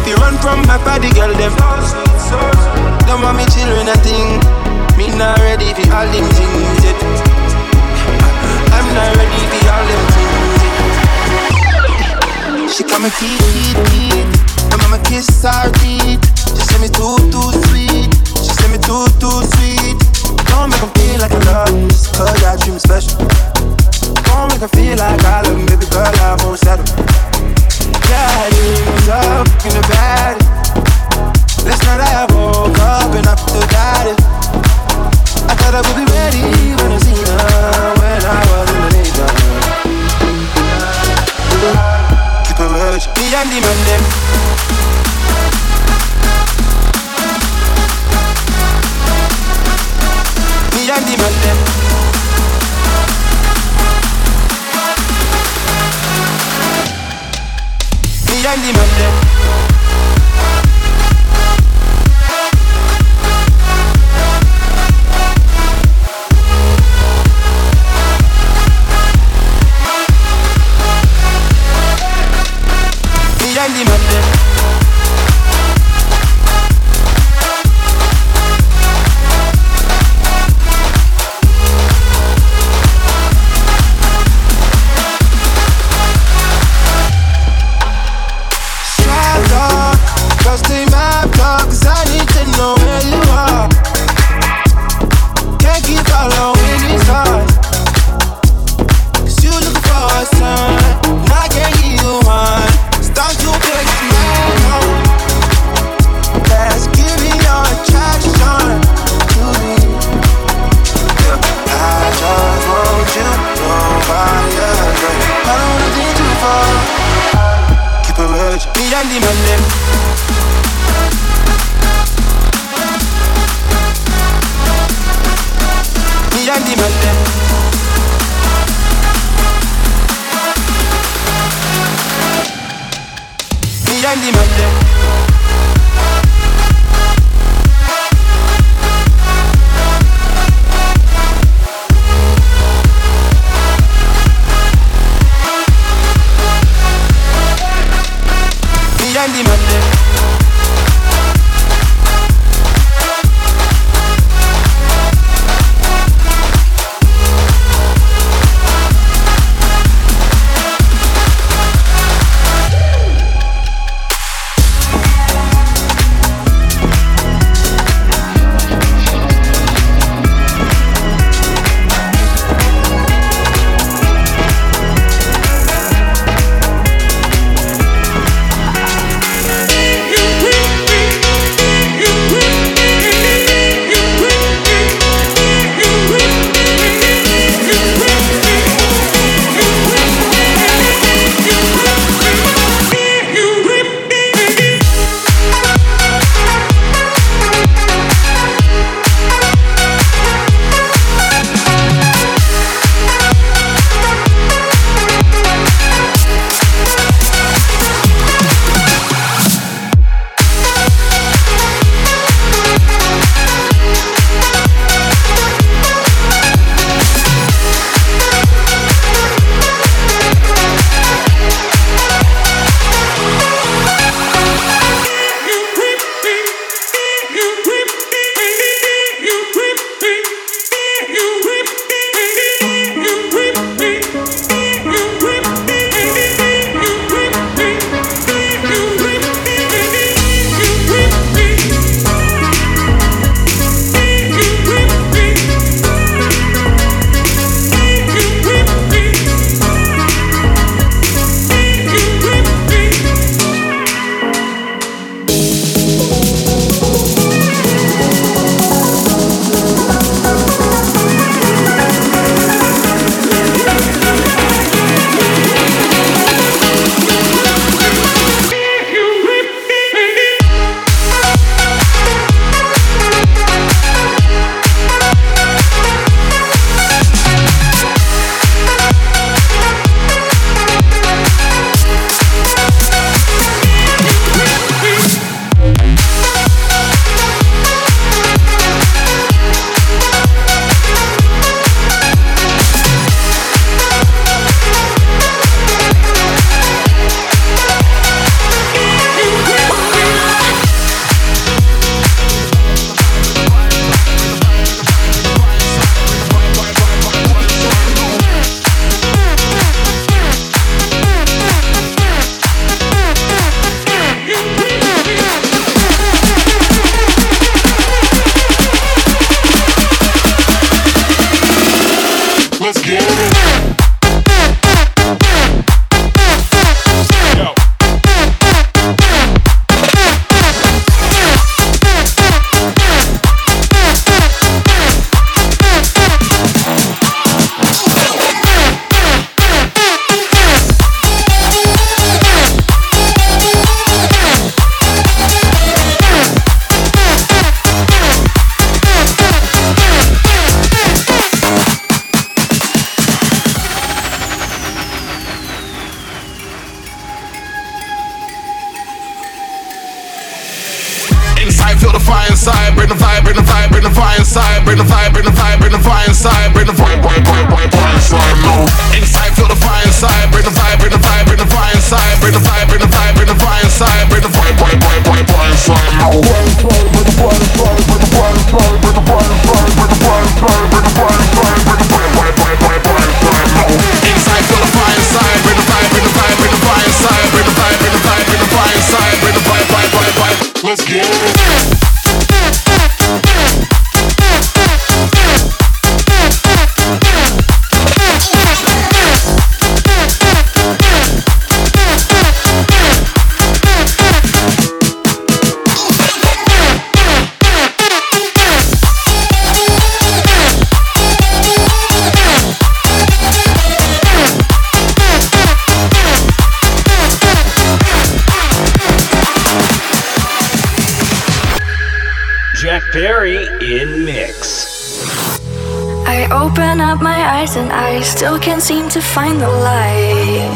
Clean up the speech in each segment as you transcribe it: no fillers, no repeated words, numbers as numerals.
fi run from my body, girl, them. Don't want me children a thing. Me not ready for all them things yet. I'm not ready for all them things yet. She call me Keith. My mama kiss her teeth. She say me too sweet. She say me too sweet. Don't make 'em feel like I love them, just 'cause I treat me special. Don't make 'em feel like I love them, baby girl, I won't settle. Yeah, it was up in the bed. Last night I woke up and I forgot it. I thought I would be ready when I seen her, when I was in the neighborhood. Keep it real, me and the man them. Me and the man them. Me and the man them. Me and the man them. Inside, feel the fire inside. Bring the vibe, bring the vibe, bring the fire inside. Bring the vibe, bring the vibe, bring the fire inside. Bring the vibe, inside. No. Inside, feel the fire inside. Bring the vibe, bring the vibe, bring the fire inside. Bring the vibe, bring the vibe, bring the fire inside. Bring the vibe, inside. No. Bring the fire inside. Bring the fire inside. Bring the fire inside. Bring the fire inside. Bring the fire inside. Bring the fire inside. No. Inside, feel the fire inside. Bring the vibe, bring the vibe, bring the fire inside. Bring the vibe, bring the vibe, bring the fire inside. Bring the vibe. Let's get it. Jack Perry in mix. I open up my eyes and I still can't seem to find the light.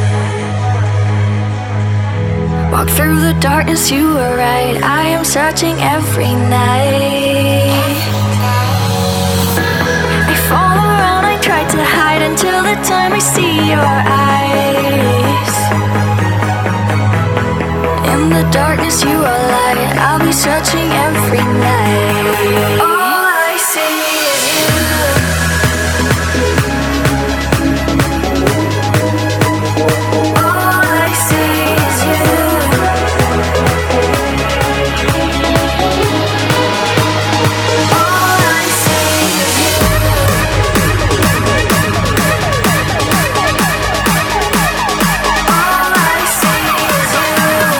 Walk through the darkness, you were right. I am searching every night. I fall around, I try to hide until the time I see your eyes. In the darkness, you are light. I'll be searching every night. All I see is you. All I see is you. All I see is you. All I see is you.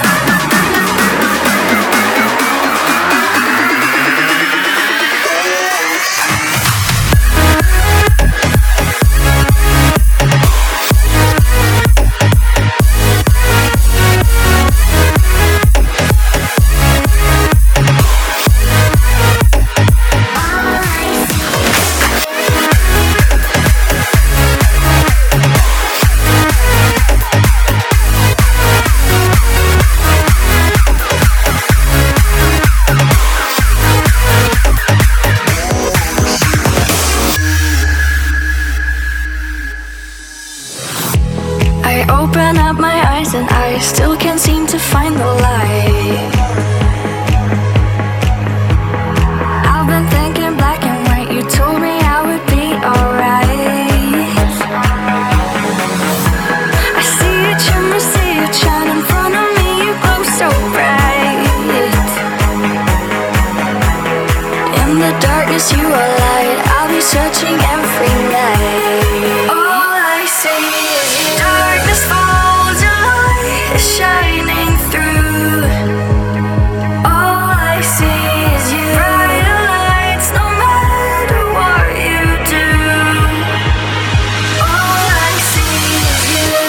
I open up my eyes and I still can't seem to find the light. I've been thinking black and white. You told me I would be alright. I see it, shine in front of me. You glow so bright. In the darkness, you are light. I'll be searching every night. All I see is you. Darkness falls, your light is shining through. All I see is you. Brighter lights, no matter what you do. All I see is you.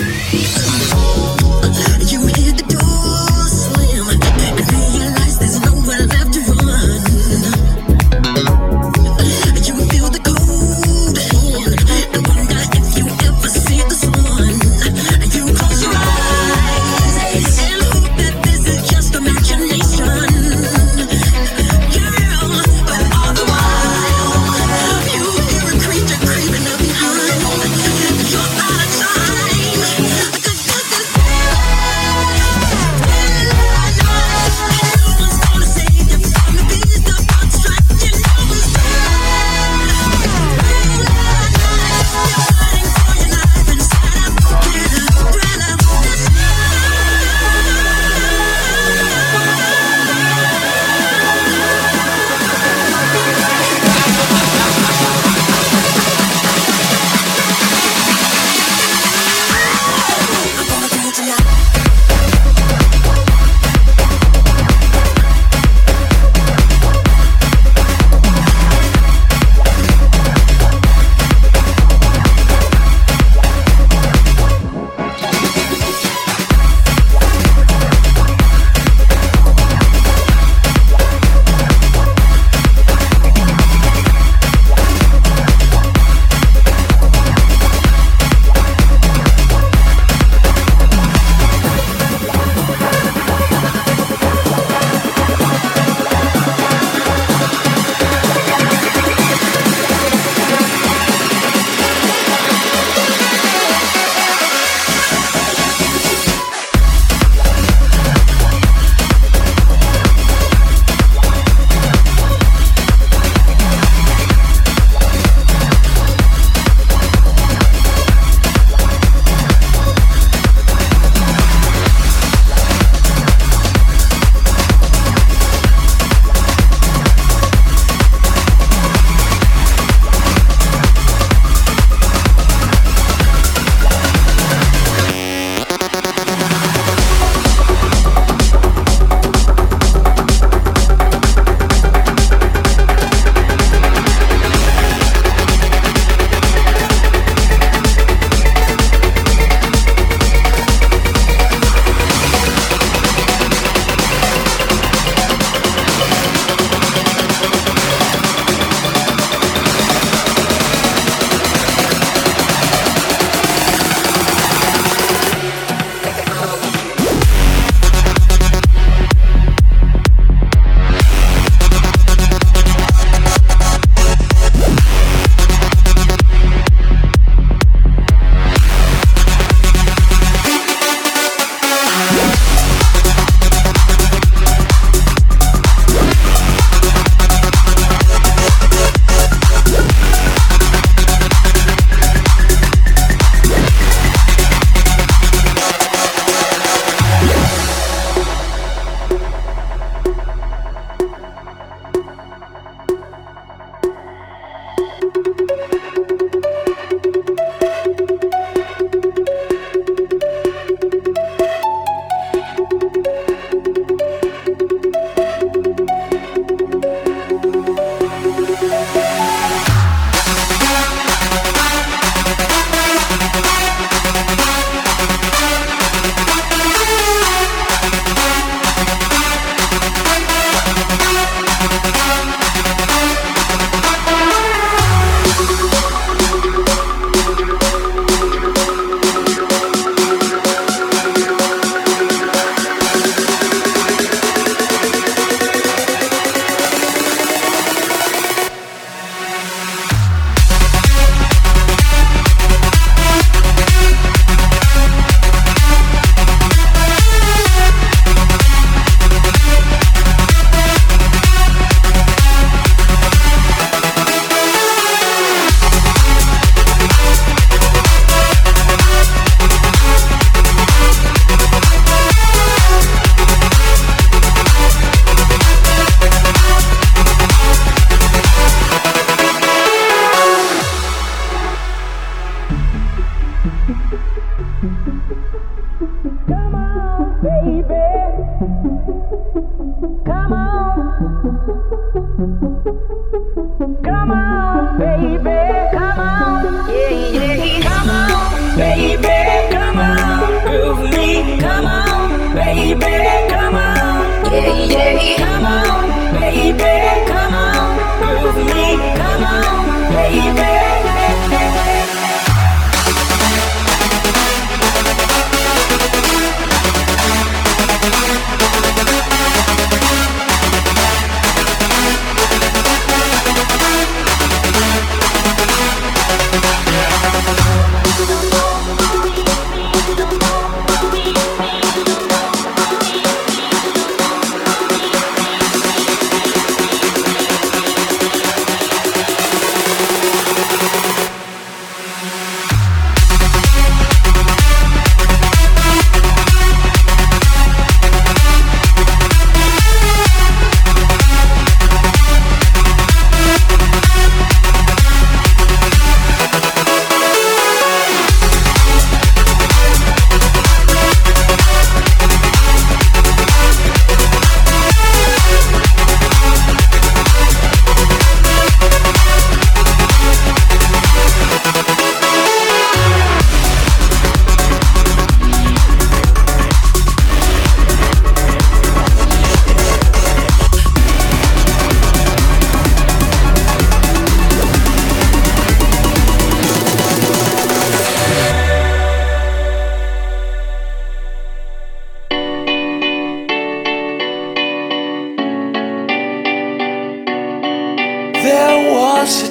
Come on, baby, come on. Yeah, yeah, come on, baby, come on.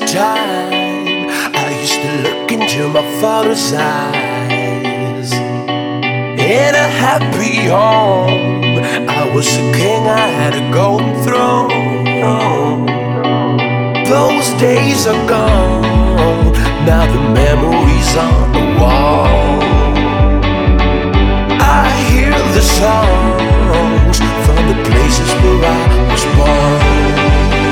time I used to look into my father's eyes. In a happy home, I was a king, I had a golden throne. Those days are gone, now the memories on the wall. I hear the songs from the places where I was born.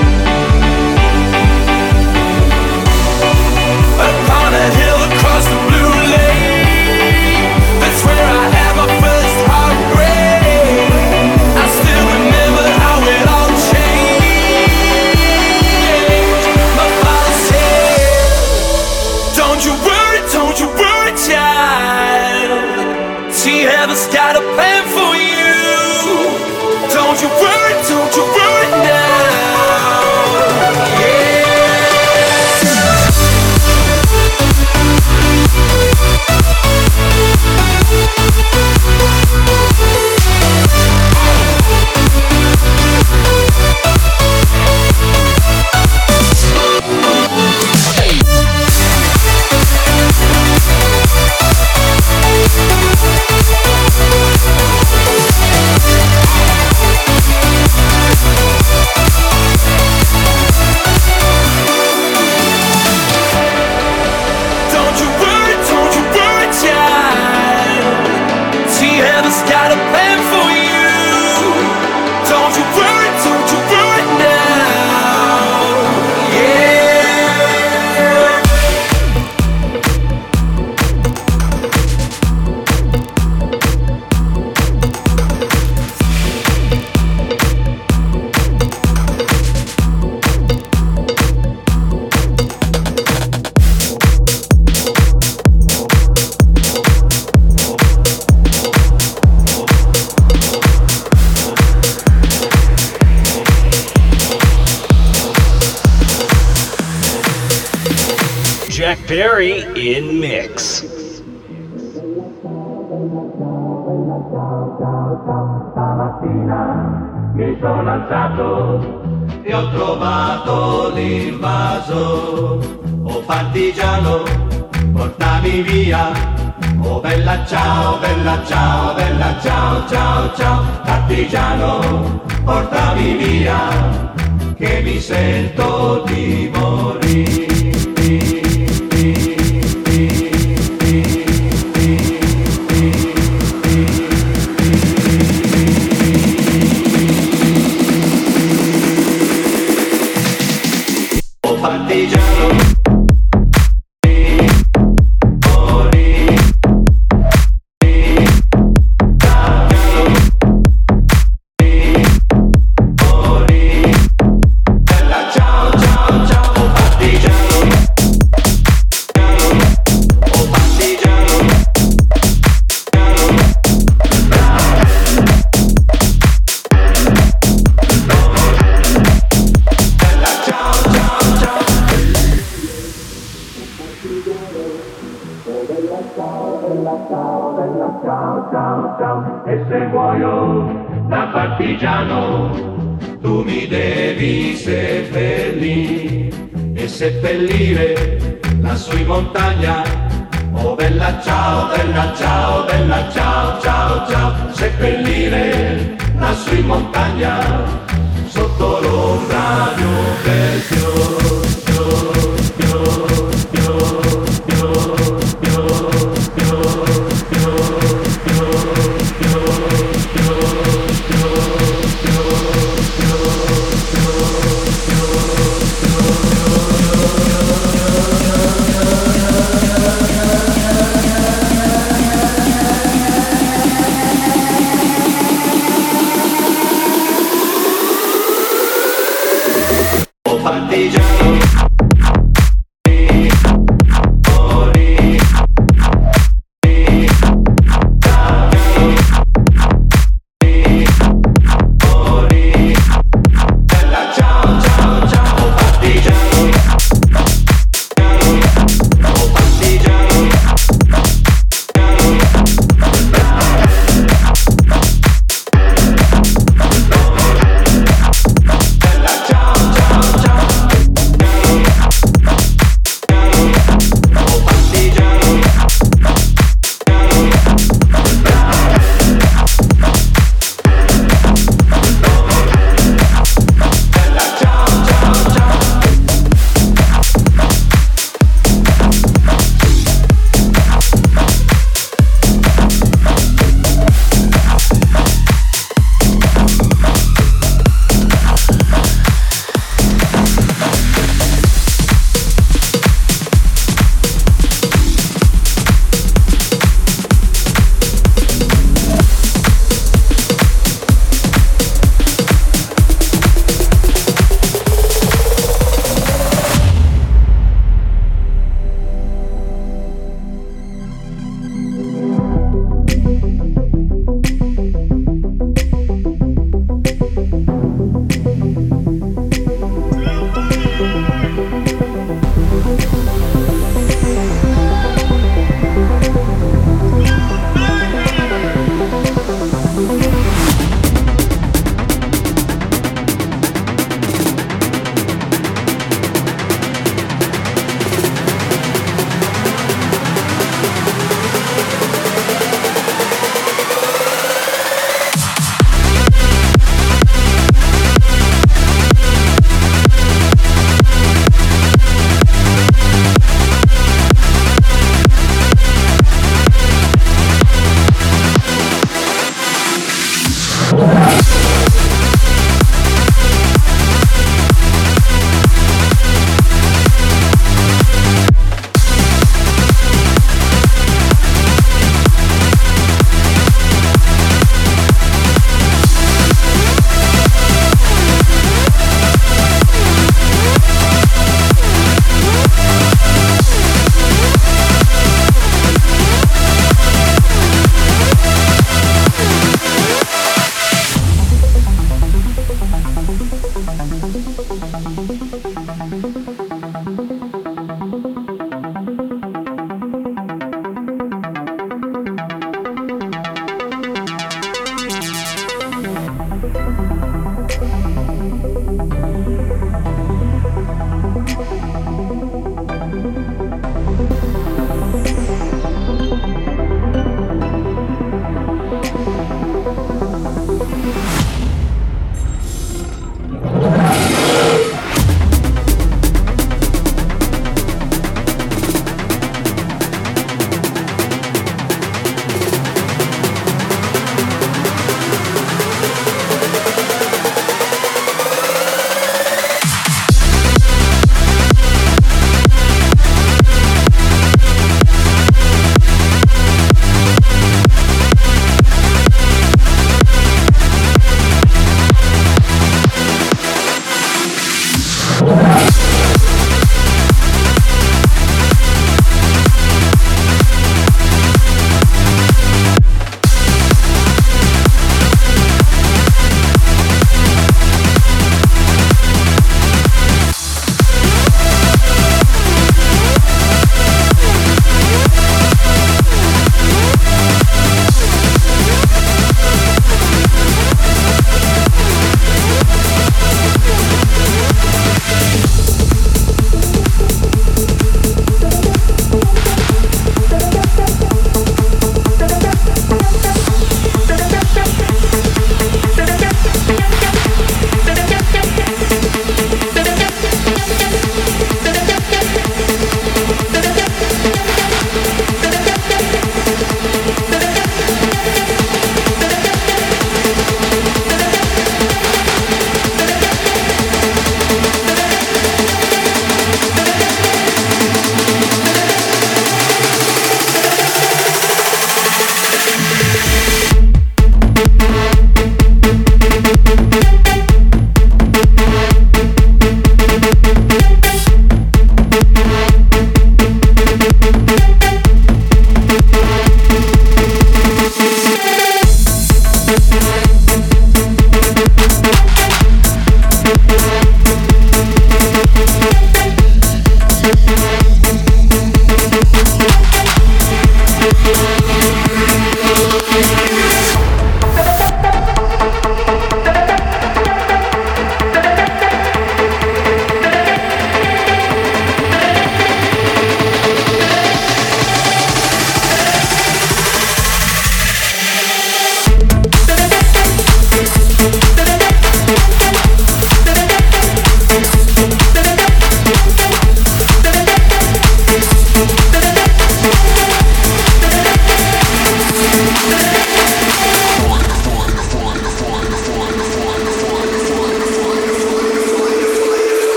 Upon a hill across the blue lake, that's where I had my first heartbreak. I still remember how it all changed. My father said, don't you worry, child. See, heaven's got a plan for you. Don't you worry now. Yeah. Jack Perry in mix. Stamattina mi sono alzato e ho trovato l'invaso. Oh partigiano, portami via. Oh bella ciao, bella ciao, bella ciao, ciao, ciao. Partigiano, portami via, che mi sento di morire. Partigiano e se muoio da partigiano tu mi devi seppellire e seppellire lassù in montagna. Oh bella ciao, bella ciao, bella ciao, ciao, ciao. Seppellire lassù in montagna sotto l'ombra di un bel fiore.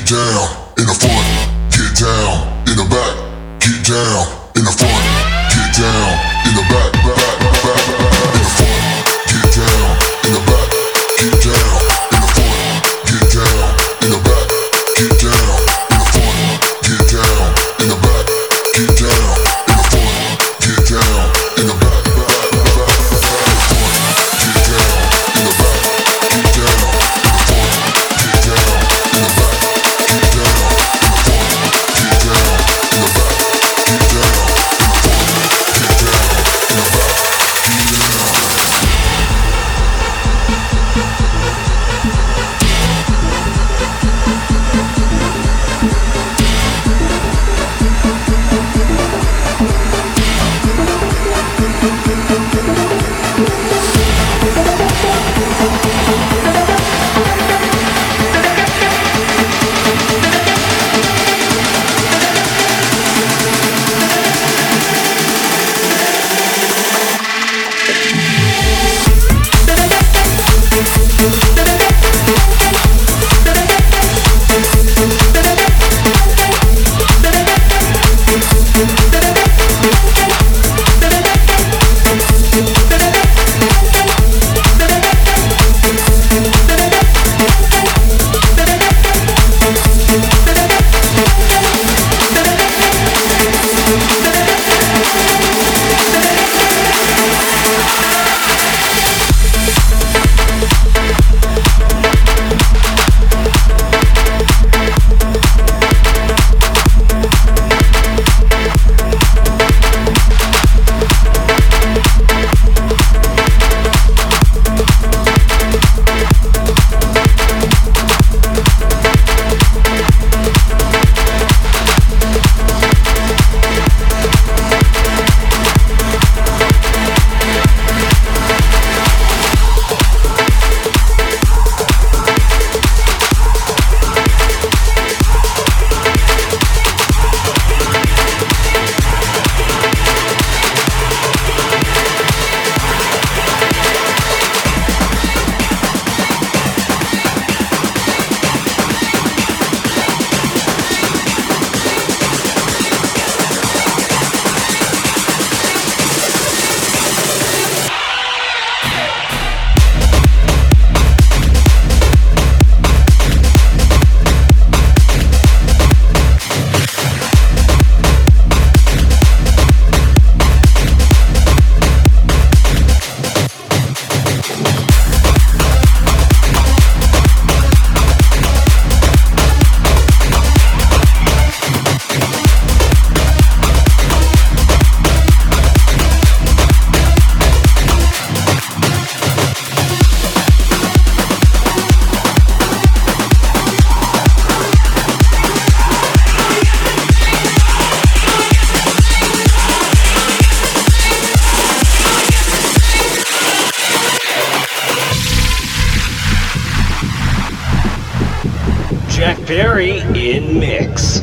down in the front, get down in the back, get down in the front, get down in the back, back, back, back, in the front, get down in the back, get down in the front, get down in the back, get down in the front, get down in the back, get down in the front, get down in the back, back, back, back, get down in the back, get down in the front, get down in the back, get down in the front, get down in the back, get down in the front, get down in the back, Jack Perry in mix.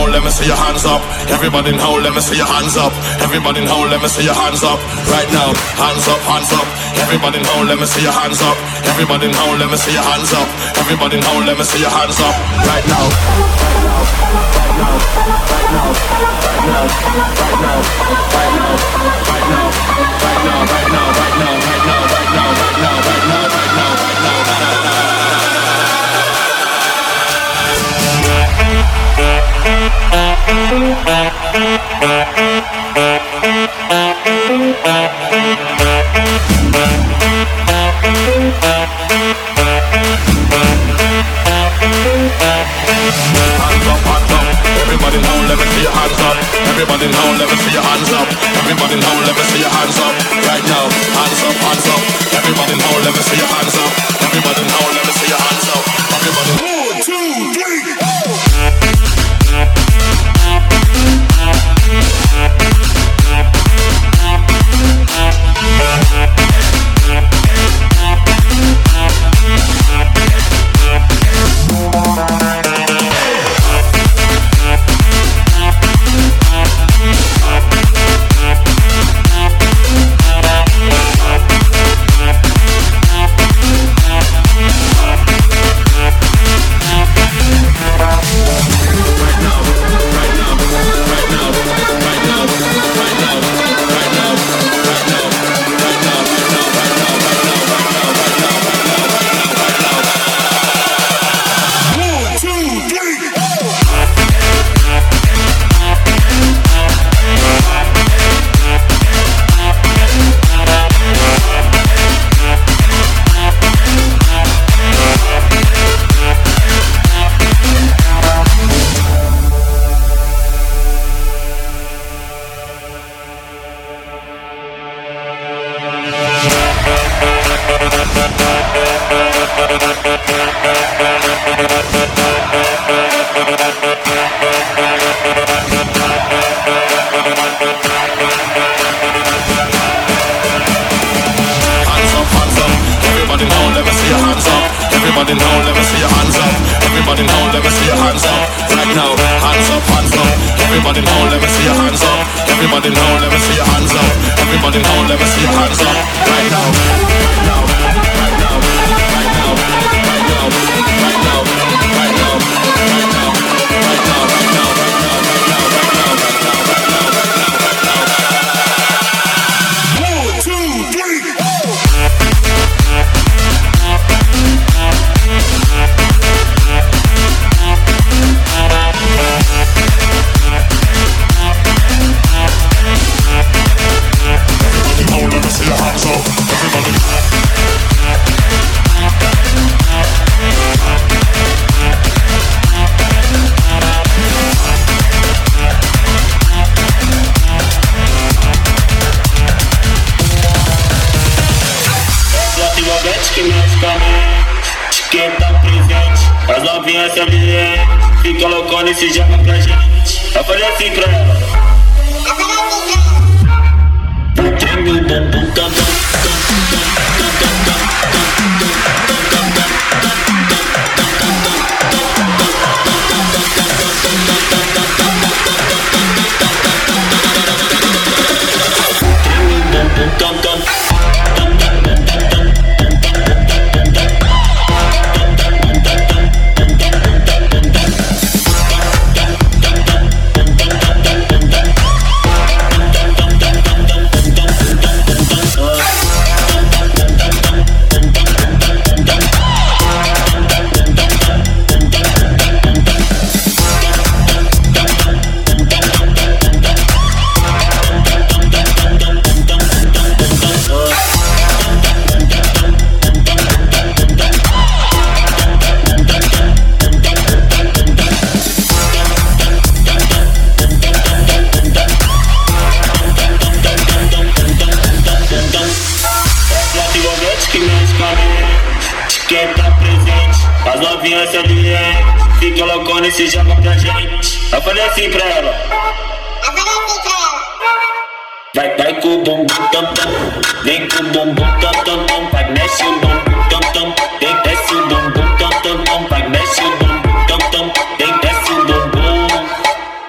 hold, let me see your hands up. Everybody in hold, let me see your hands up. Everybody in hold, let me see your hands up. Right now, hands up, hands up. Everybody in hold, let me see your hands up. Everybody in hold, let me see your hands up. Everybody in hold, let me see your hands up. Right now, right now, right now, right now, right now, right now, right now, right now, right now, right now, right now, right now, right now, right now, right now, right now, right now, right now. Everybody now, let me see your hands up. Everybody now, let me see your hands up. Everybody now, let me see your hands up. Right now, hands up, hands up. Everybody now, let me see your hands up. Everybody now, let me see your hands up. Everybody. 1, 2, 3, go! Everybody now, let me see your hands up. Everybody now, let me see your hands up. Right now, hands up, hands up. Everybody now, let me see your hands up. Everybody now, let me see your hands up. Everybody now, let me see your hands up. Right now, right now, right now, right now, right now, right now, right now, right now, right now, right now, right now, right now, right now, right now, right now, right now, right now. 1, 2, 3, go! Que mexe com a mente, quem tá presente, as novinhas se ambiente, fica loucona e se joga pra gente. Eu falei assim pra ela. Treme o bumbum cantando. Quem tá presente, as novinhas se ambiente, fica loucona e se joga pra gente. Eu falei assim pra ela. Vai com o bumbum tam tam, vem com o bumbum tam tam tam, vai mexe o bumbum tam tam, vem desce o bumbum tam tam tam, vai mexe o bumbum tam tam, vem desce o bumbum.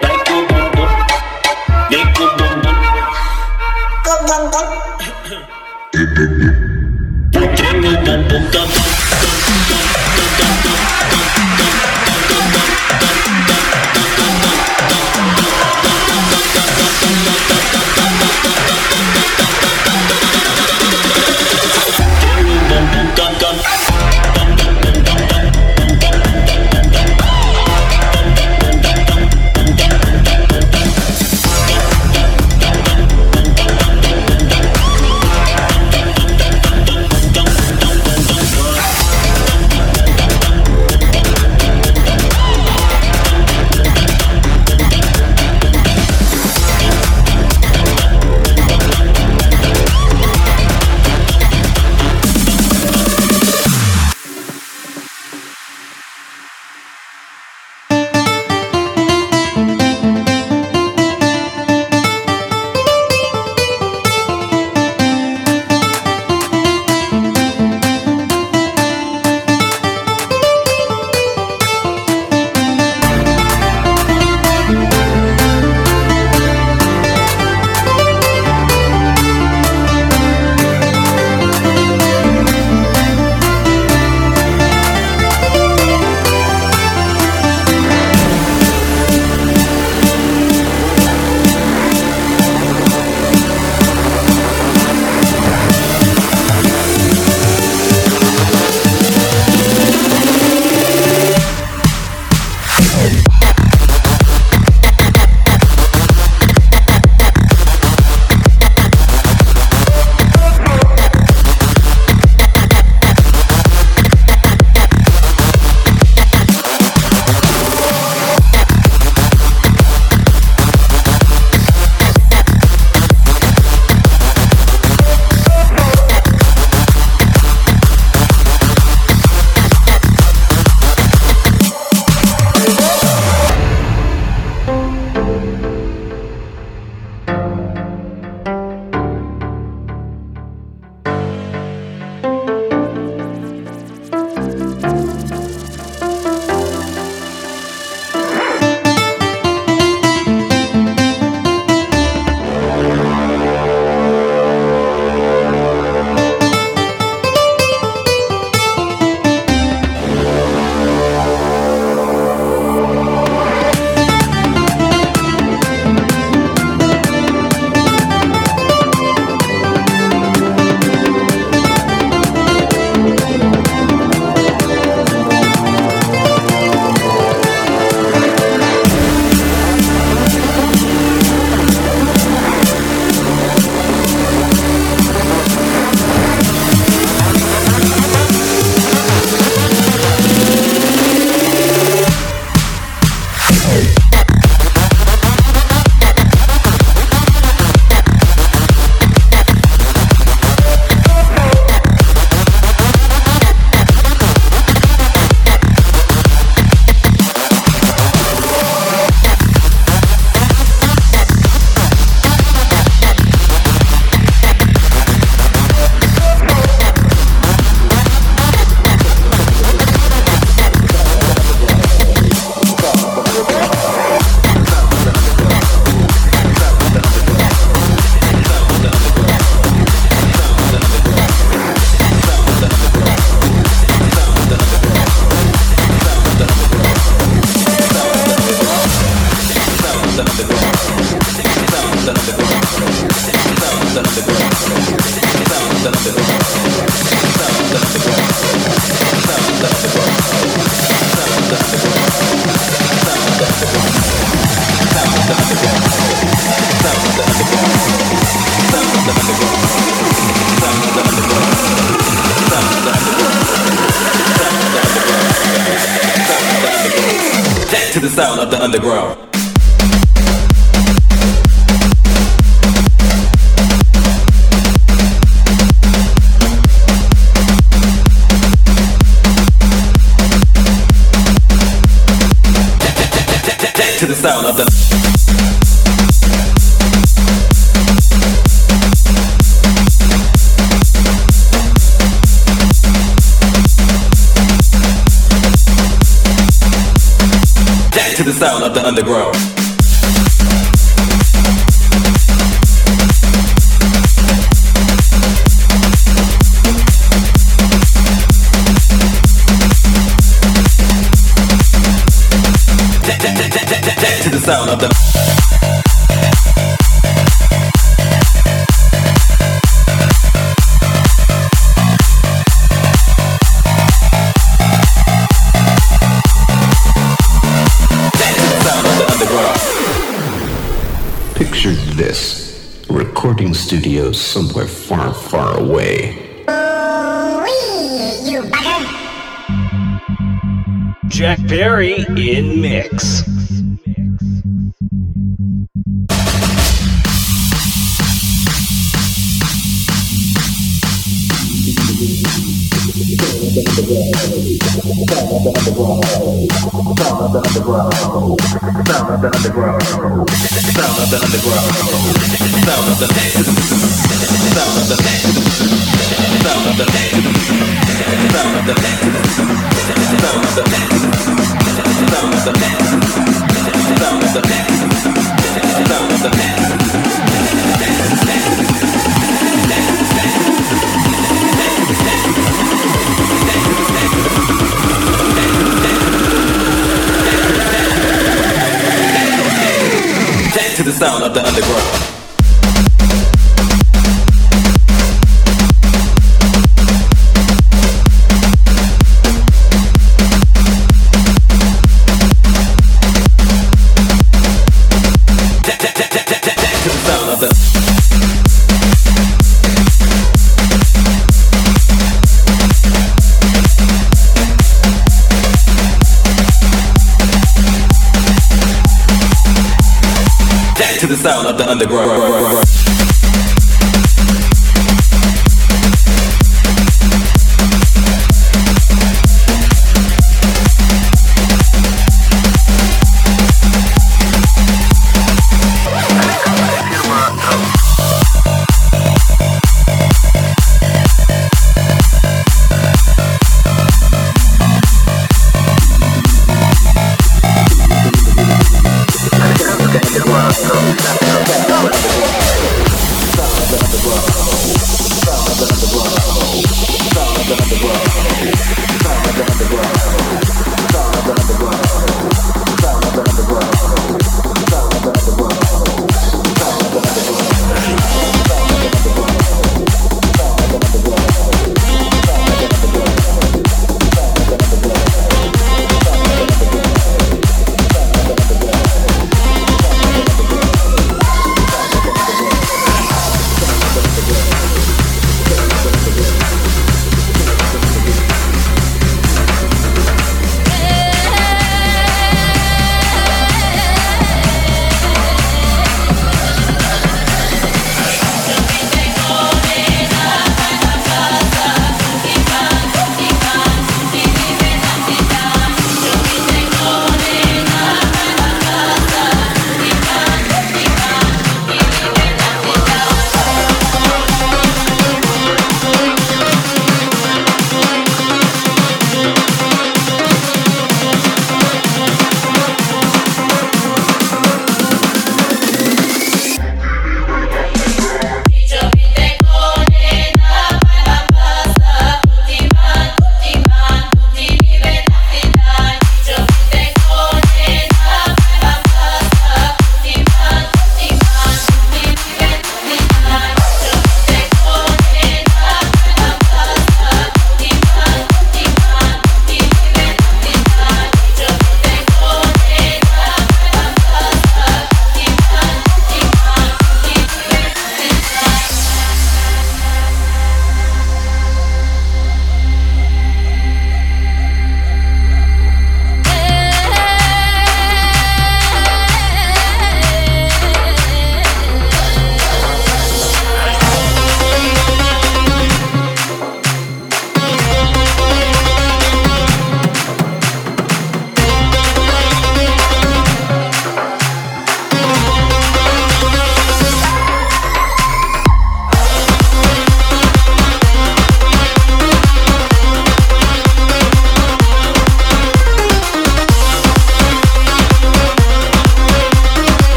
to the sound of the underground. To the sound of the to the sound of the underground. To the sound of the Picture this, recording studio somewhere far, far away. Jack Perry in mix. to the sound of the underground. To the sound of the underground.